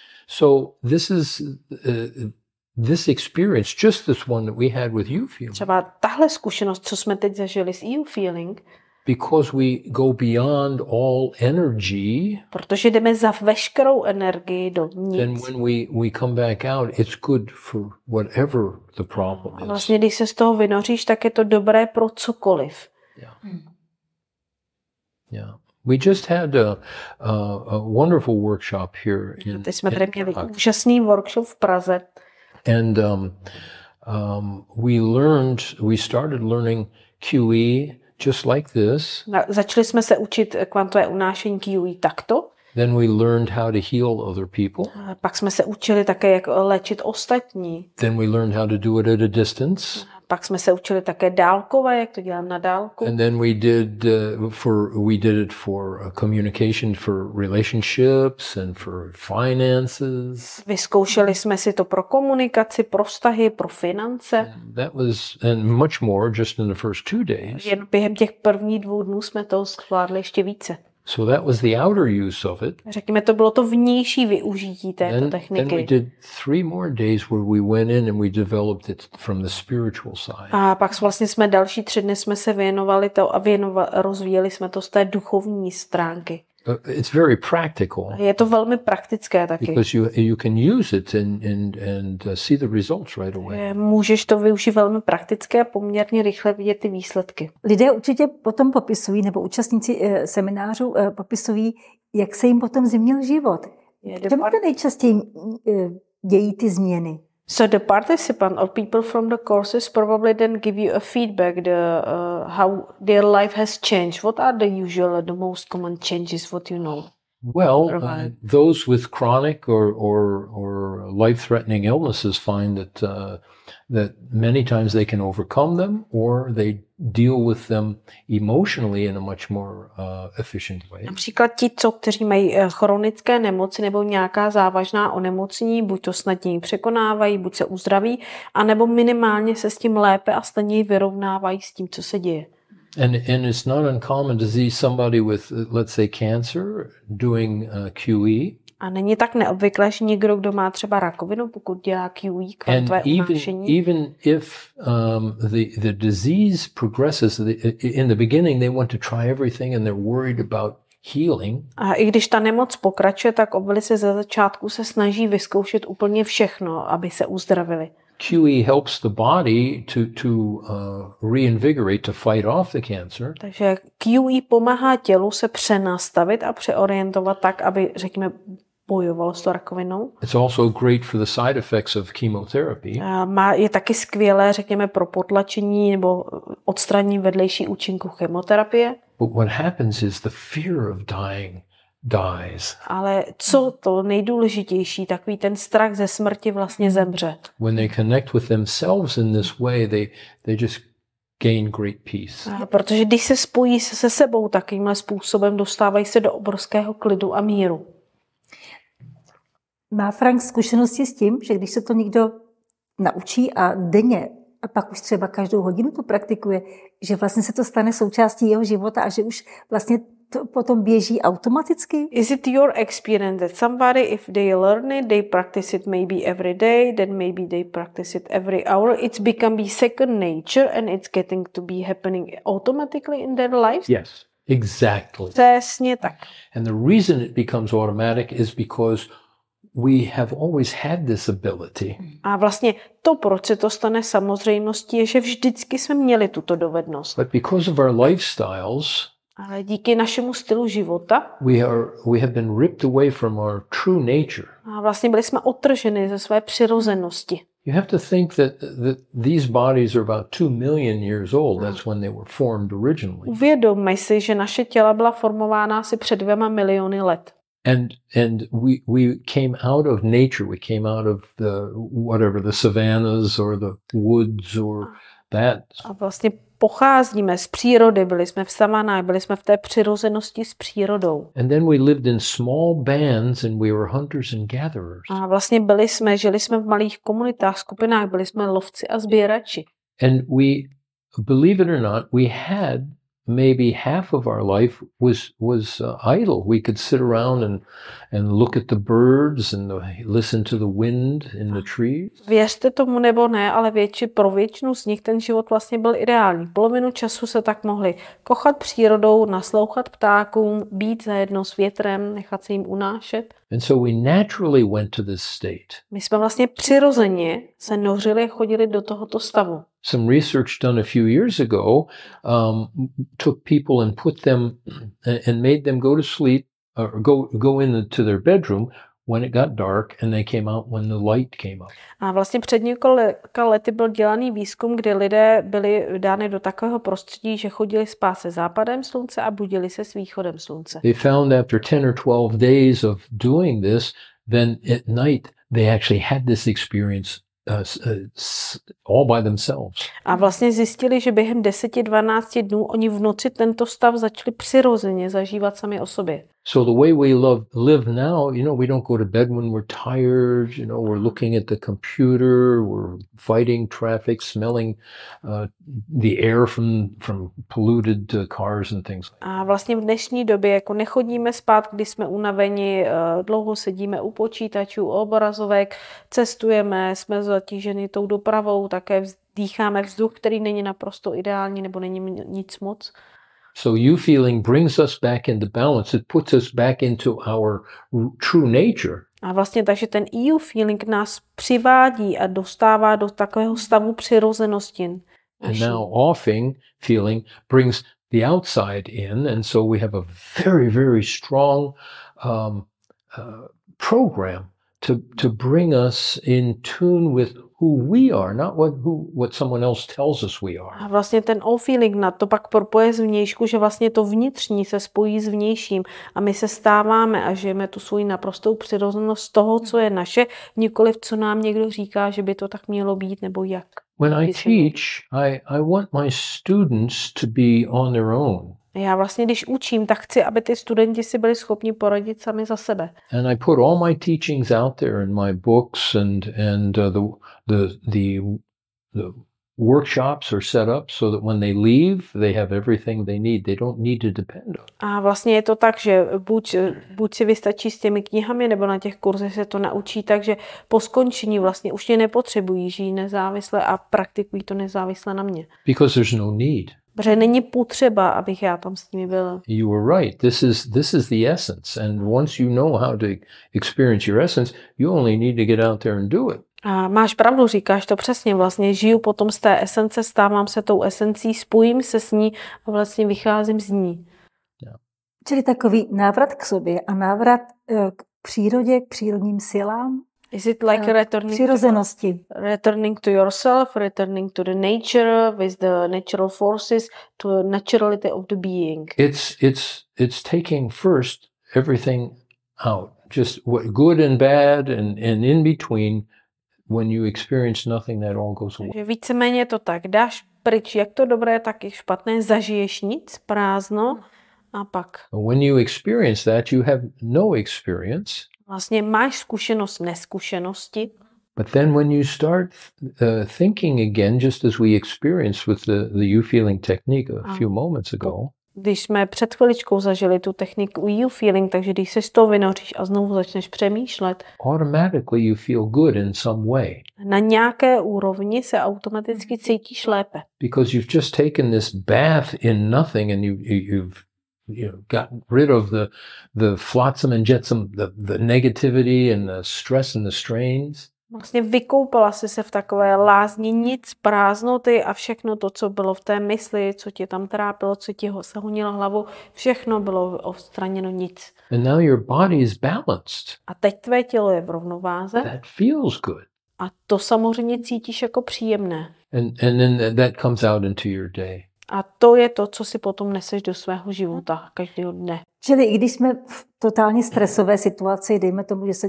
so this is uh, this experience, just this one that we had with you feeling, Třeba tahle zkušenost, co jsme teď zažili s you feeling, because we go beyond all energy. protože jdeme za veškerou energii do Then nic. when we we come back out, it's good for whatever the problem A is. vlastně, když se z toho vynoříš, tak je to dobré pro cokoliv. Yeah. Yeah. We just had a, a, a wonderful workshop here in, Teď jsme in tady měli Prague. úžasný workshop v Praze. And um, um, we learned, we started learning Q E just like this. Na- Začali jsme se učit kvantové unášení Q E takto. Then we learned how to heal other people. A pak jsme se učili také, jak léčit ostatní. Then we learned how to do it at a distance. Pak jsme se učili také dálkové, jak to dělám na dálku. And then we did uh, for we did it for uh, communication, for relationships, and for finances. Vyzkoušeli jsme si to pro komunikaci, pro vztahy, pro finance. That was and much more just in the first two days. Jen během těch prvních dvou dnů jsme toho zvládli ještě více. So that was the outer use of it. Řekněme, to bylo to vnější využití této Then, then we techniky. did three more days where we went in and we developed it from the spiritual side. A pak vlastně jsme další tři dny jsme se věnovali to a věnova, rozvíjeli jsme to z té duchovní stránky. Uh, it's very practical Je to velmi praktické taky. because you you can use it and and and uh, see the results right away. Můžeš to využít velmi praktické a poměrně rychle vidět ty výsledky. Lidé určitě potom popisují, nebo účastníci eh, seminářů eh, popisují, jak se jim potom změnil život. Čemu se nejčastěji eh, dějí ty změny? So the participant or people from the courses probably then give you a feedback the uh, how their life has changed. What are the usual, the most common changes? What you know? Well, uh, Right. those with chronic or or or life-threatening illnesses find that uh, that many times they can overcome them, or they deal with them emotionally in a much more uh, efficient way. Například ti, co, kteří mají eh, chronické nemoci nebo nějaká závažná onemocnění, buď to snadněji překonávají, buď se uzdraví, anebo minimálně se s tím lépe a snadněji vyrovnávají s tím, co se děje. And and it's not uncommon to see somebody with, uh, let's say, cancer doing uh, Q E, A není tak neobvyklé, že někdo, kdo má třeba rakovinu, pokud dělá Q E, and kvantové even unášení, even if um, the the disease progresses, the, in the beginning they want to try everything and they're worried about healing. a i když ta nemoc pokračuje, tak velice ze začátku se snaží vyzkoušet úplně všechno, aby se uzdravili. Q E helps the body to to uh, reinvigorate, to fight off the cancer. Takže Q E pomáhá tělu se přenastavit a přeorientovat tak, aby, řekněme, bojovalo s tou rakovinou. It's also great for the side effects of chemotherapy. A má, je taky skvělé, řekněme, pro potlačení nebo odstranění vedlejší účinku chemoterapie. But what happens is the fear of dying dies. Ale co to nejdůležitější, takový ten strach ze smrti vlastně zemře. When they connect with themselves in this way, they they just gain great peace. A protože když se spojí se, se sebou takovýmhle způsobem, dostávají se do obrovského klidu a míru. Má Frank zkušenosti s tím, že když se to někdo naučí a denně a pak už třeba každou hodinu to praktikuje, že vlastně se to stane součástí jeho života a že už vlastně to potom běží automaticky? Is it your experience that somebody, if they learn it, they practice it maybe every day, then maybe they practice it every hour, it's become be second nature and it's getting to be happening automatically in their lives? Yes, exactly. Přesně tak. And the reason it becomes automatic is because we have always had this ability. A vlastně to, proč se to stane samozřejmostí, je, že vždycky jsme měli tuto dovednost. But because of our lifestyles, ale díky našemu stylu života we are we have been ripped away from our true nature. A vlastně byli jsme odtrženi ze své přirozenosti. You have to think that, that these bodies are about two million years old. That's when they were formed originally. Uvědomme si, že naše těla byla formována asi před dvěma miliony let. And and we we came out of nature. We came out of the whatever the savannas or the woods or that. A vlastně pocházíme z přírody, byli jsme v savanách, byli jsme v té přirozenosti s přírodou. And then we lived in small bands and we were hunters and gatherers. A vlastně byli jsme, žili jsme v malých komunitách, skupinách, byli jsme lovci a sběrači. And we, believe it or not, we had maybe half of our life was was uh, idle. We could sit around and and look at the birds and the, listen to the wind in the trees. Věřte tomu nebo ne, ale větši, pro většinu z nich ten život vlastně byl ideální. Polovinu času se tak mohli kochat přírodou, naslouchat ptákům, být zajedno s větrem, nechat se jim unášet. And so we naturally went to this state. My jsme vlastně přirozeně se nořili a chodili do tohoto stavu. Some research done a few years ago um, took people and put them and made them go to sleep or go go into their bedroom when it got dark and they came out when the light came up. A vlastně před několika lety byl dělaný výzkum, kdy lidé byli dány do takového prostředí, že chodili spát se západem slunce a budili se s východem slunce. They found after ten or twelve days of doing this, then at night they actually had this experience Uh, all by themselves. A vlastně zjistili, že během deseti dvanácti dnů oni v noci tento stav začali přirozeně zažívat sami o sobě. So the way we love, live now, you know, we don't go to bed when we're tired, you know, we're looking at the computer, we're fighting traffic, smelling uh, the air from from polluted uh, cars and things like that. A vlastně v dnešní době jako nechodíme spát, když jsme unaveni, uh, dlouho sedíme u počítačů, u obrazovek, cestujeme, jsme zatíženi tou dopravou, také dýcháme vzduch, který není naprosto ideální nebo není nic moc. So you feeling brings us back into balance. It puts us back into our true nature. A vlastně takže ten E U feeling nás přivádí a dostává do takového stavu přirozenosti. And now offing feeling brings the outside in, and so we have a very, very strong um, uh, program to to bring us in tune with who we are, not what who what someone else tells us we are. A vlastně ten all feeling na to pak propoje z vnějšku, že vlastně to vnitřní se spojí s vnějším a my se stáváme a žijeme tu svou naprostou přirozenost toho, co je naše, nikoliv co nám někdo říká, že by to tak mělo být nebo jak. When I teach, I I want my students to be on their own. Já vlastně, když učím, tak chci, aby ty studenti si byli schopni poradit sami za sebe. And I put all my teachings out there in my books and and uh, the the the the workshops are set up so that when they leave, they have everything they need. They don't need to depend on. A vlastně je to tak, že buď, buď si vystačí s těmi knihami, nebo na těch kurzech se to naučí, takže po skončení vlastně už mě nepotřebují, žijí nezávisle a praktikují to nezávisle na mě. Because there's no need. Protože není potřeba, abych já tam s nimi byl. You were right. This is this is the essence. And once you know how to experience your essence, you only need to get out there and do it. A máš pravdu, říkáš to přesně. Vlastně žiju potom z té esence, stávám se tou esencí, spojím se s ní a vlastně vycházím z ní. Yeah. Čili takový návrat k sobě a návrat k přírodě, k přírodním silám. Is it like returning přirozenosti. To, returning to yourself, returning to the nature with the natural forces, to the naturality of the being? It's it's it's taking first everything out, just what good and bad and, and in between. When you experience nothing, that all goes away. Takže víceméně to tak, dáš pryč jak to dobré, tak i špatné, zažiješ nic, prázdno a pak. When you experience that, you have no experience. Vlastně máš zkušenost neskušenosti. But then when you start uh, thinking again, just as we experienced with the, the you feeling technique a few moments ago. Když jsme před chviličkou zažili tu techniku you feeling, takže když se z toho vynoříš a znovu začneš přemýšlet, automatically you feel good in some way. Na nějaké úrovni se automaticky cítíš lépe. Because you've just taken this bath in nothing and you, you you've you know, gotten rid of the the flotsam and jetsam, the the negativity and the stress and the strains. Vlastně vykoupala jsi se v takové lázni nic, prázdnoty a všechno to, co bylo v té mysli, co tě tam trápilo, co ti ho se honilo hlavu, všechno bylo odstraněno nic. And now your body is balanced. A teď tvé tělo je v rovnováze. That feels good. A to samozřejmě cítíš jako příjemné. And and then that comes out into your day. A to je to, co si potom neseš do svého života každého dne. Čili i když jsme v totálně stresové situaci, dejme tomu, že se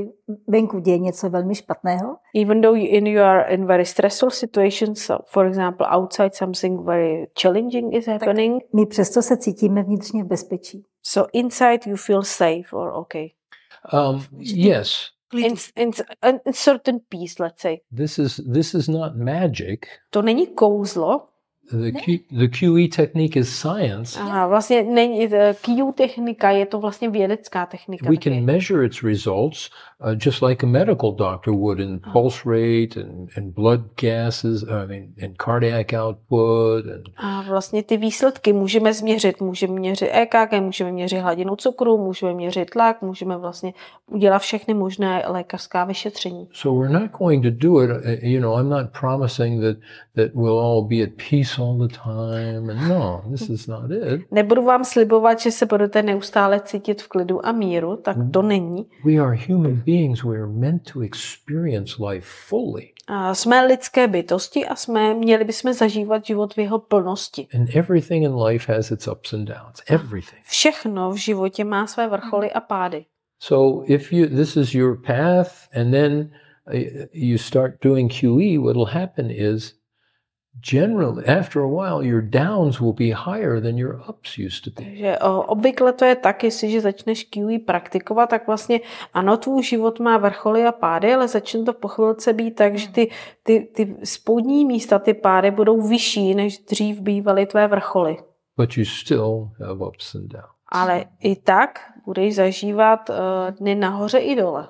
venku děje něco velmi špatného. Even though in you are in very stressful situations, so for example outside something very challenging is happening. My přesto se cítíme vnitřně v bezpečí. So inside you feel safe or okay. Um, yes. In, in, in certain peace, let's say. This is this is not magic. To není kouzlo. The Q, the Q E technique is science. Aha, vlastně není, Q technika je to vlastně vědecká technika. We can taky. measure its results uh, just like a medical doctor would in pulse rate and, and blood gases, I mean, and cardiac output. And... A vlastně ty výsledky můžeme změřit. Můžeme měřit E K G, můžeme měřit hladinu cukru, můžeme měřit tlak, můžeme vlastně udělat všechny možné lékařská vyšetření. So we're not going to do it, you know, I'm not promising that, that we'll all be at peace all the time. And no, this is not it. Nebudu vám slibovat, že se budete neustále cítit v klidu a míru, tak to není. We are human beings. We are meant to experience life fully. A jsme lidské bytosti a jsme měli bychom zažívat život v jeho plnosti. And everything in life has its ups and downs. Everything. Všechno v životě má své vrcholy a pády. So if you this is your path and then you start doing Q E, what will happen is generally, after a while, your downs will be higher than your ups used to be. Takže obvykle to je tak, jestliže začneš Q E praktikovat, tak vlastně ano, tvůj život má vrcholy a pády, ale začne to po chvilce být tak, že ty, ty, ty spodní místa, ty pády budou vyšší, než dřív bývaly tvé vrcholy. But you still have ups and downs. Ale i tak budeš zažívat uh, dny nahoře i dole.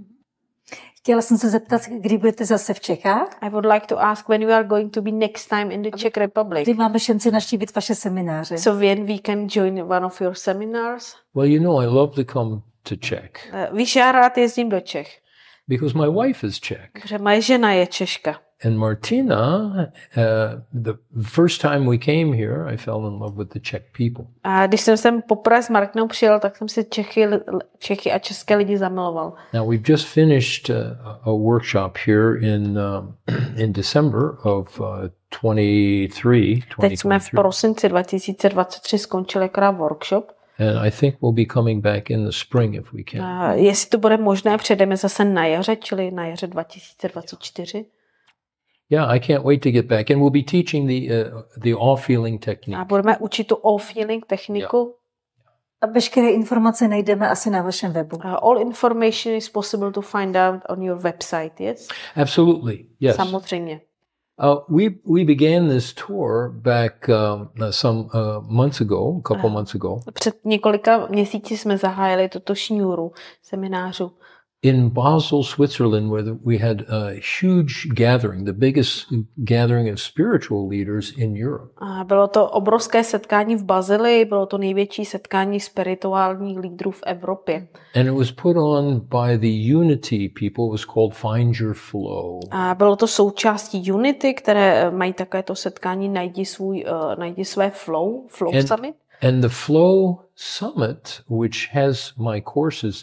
Chtěla jsem se zeptat, kdy budete zase v Čechách? I would like to ask when we are going to be next time in the Czech Republic. Kdy máme šanci navštívit vaše semináře? So when we can join one of your seminars? Well, you know, I love to come to Czech. Uh, víš, já rád jezdím do Čech. Because my wife is Czech. Protože moje žena je Češka. And Martina, uh, the first time we came here, I fell in love with the Czech people. A když jsem sem poprvé s Martinou přijel, tak jsem si Čechy, Čechy a české lidi zamiloval. Now we've just finished uh, a workshop here in um, in December of uh, twenty-three. Teď jsme v prosinci dva tisíce dvacet tři skončili akorát workshop. And I think we'll be coming back in the spring if we can. A jestli to bude možné, přejdeme zase na jaře, čili na jaře dva tisíce dvacet čtyři. Yeah, I can't wait to get back. And we'll be teaching the uh, the all feeling technique. A budeme učit tu all feeling techniku. Yeah. A veškeré informace najdeme asi na vašem webu. Uh, all information is possible to find out on your website, yes? Absolutely, yes. Samozřejmě. Uh, we we began this tour back um, some uh, months ago, a couple uh, months ago. Před několika měsíci jsme zahájili toto šňůru seminářů. In Basel, Switzerland, where we had a huge gathering, the biggest gathering of spiritual leaders in Europe. A bylo to obrovské setkání v Bazilii, bylo to největší setkání spirituálních lídrů v Evropě. And it was put on by the Unity people. It was called Find Your Flow. A bylo to součástí Unity, které mají takovéto setkání Najdi svůj, uh, najdi své flow, Flow and, Summit. And the Flow Summit, which has my courses,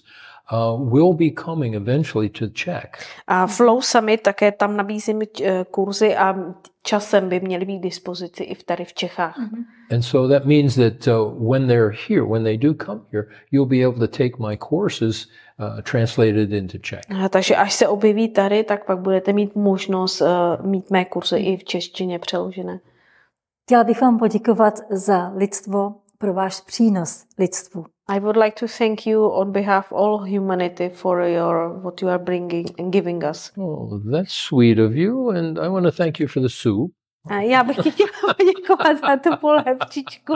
uh, will be coming eventually to Czech. A Flow Summit také tam nabízíme eh, kurzy a časem by měly být k dispozici i v tady v Čechách. And so that means that uh, when they're here, when they do come here, you'll be able to take my courses uh, translated into Czech. A takže až se objeví tady, tak pak budete mít možnost uh, mít mé kurzy i v češtině přeložené. Chtěla bych vám poděkovat za lidstvo, pro váš přínos lidstvu. I would like to thank you on behalf of all humanity for your what you are bringing and giving us. Oh, that's sweet of you, and I want to thank you for the soup. A já bych ti chtěla poděkovat za tu polévčičku.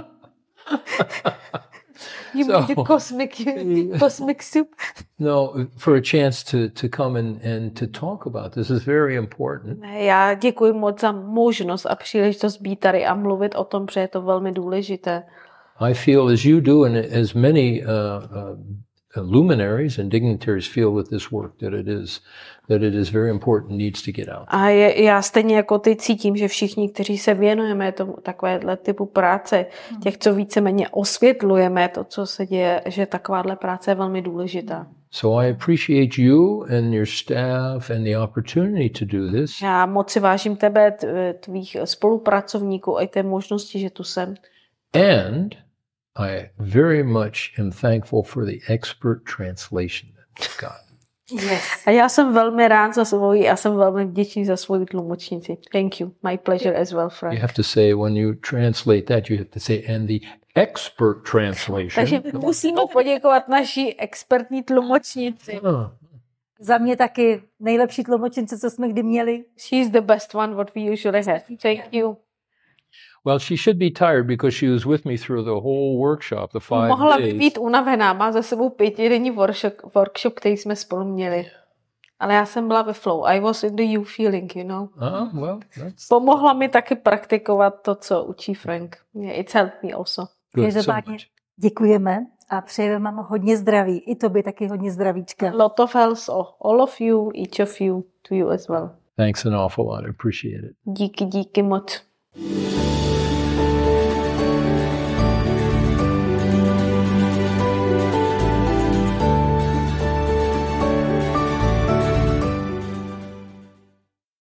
You So- made the cosmic, cosmic soup. No, for a chance to, to come and, and to talk about this is very important. Já děkuji moc za možnost a příležitost být tady a mluvit o tom, protože je to velmi důležité. I feel as you do, and as many uh, uh, luminaries and dignitaries feel with this work, that it is that it is very important, needs to get out. A je, já stejně jako ty cítím, že všichni, kteří se věnujeme tomu takovéhle typu práce, těch, co víceméně osvětlujeme to, co se děje, že takováhle práce je velmi důležitá. So I appreciate you and your staff and the opportunity to do this. Já moc si vážím tebe, t- tvých spolupracovníků a i té možnosti, že tu jsem. And I very much am thankful for the expert translation that we've got. Yes. A já jsem velmi rád za svoji a jsem velmi vděčný za svoji tlumočnici. Thank you. My pleasure as well, You Frank. have to say, when you translate that, you have to say, and the expert translation. Takže musíme poděkovat naší expertní tlumočnici. Ah, Za mě taky nejlepší tlumočnice, co jsme kdy měli. She's the best one what we usually have. Thank you. well, she should be tired because she was with me through the whole workshop, the five Mohla by days. být unavená, má za sebou pětidenní workshop, workshop, který jsme spolu měli. Ale já jsem byla ve flow. I was in the you feeling, you know. Ah, well, that's Pomohla mi taky praktikovat to, co učí Frank. Yeah, it's helped me also. good. So Každopádně much. děkujeme a přejeme vám hodně zdraví. I tobě taky hodně zdravíčka. Lot of health, all of you, each of you, to you as well. Thanks an awful lot. I appreciate it. Díky, díky moc.